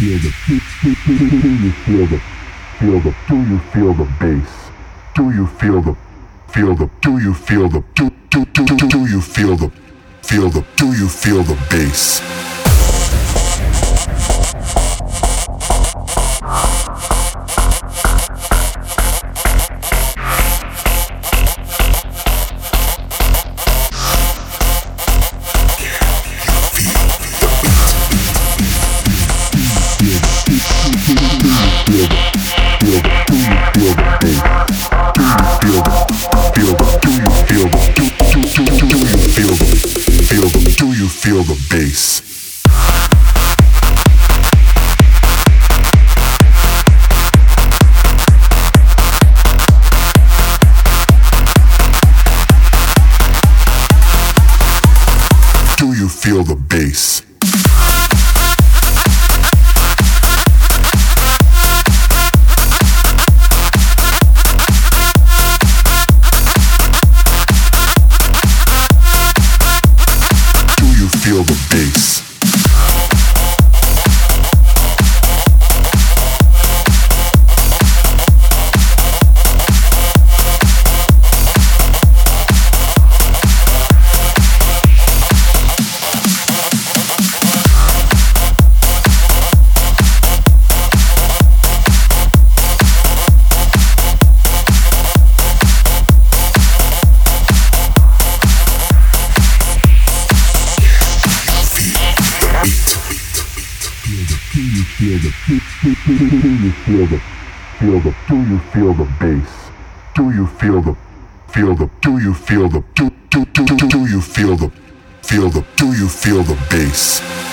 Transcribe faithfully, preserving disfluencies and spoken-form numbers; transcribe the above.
feel the do, do, do, do, do you feel the feel the do you feel the bass? Do you feel the feel the do you feel the do do do do do you feel the feel the do you feel the bass? Feel the bass. Do you feel the bass? Feel the bass. Feel the do, do, do, do you feel the feel the do you feel the bass? Do you feel the feel the do you feel the do do do do do you feel the feel the do you feel the bass?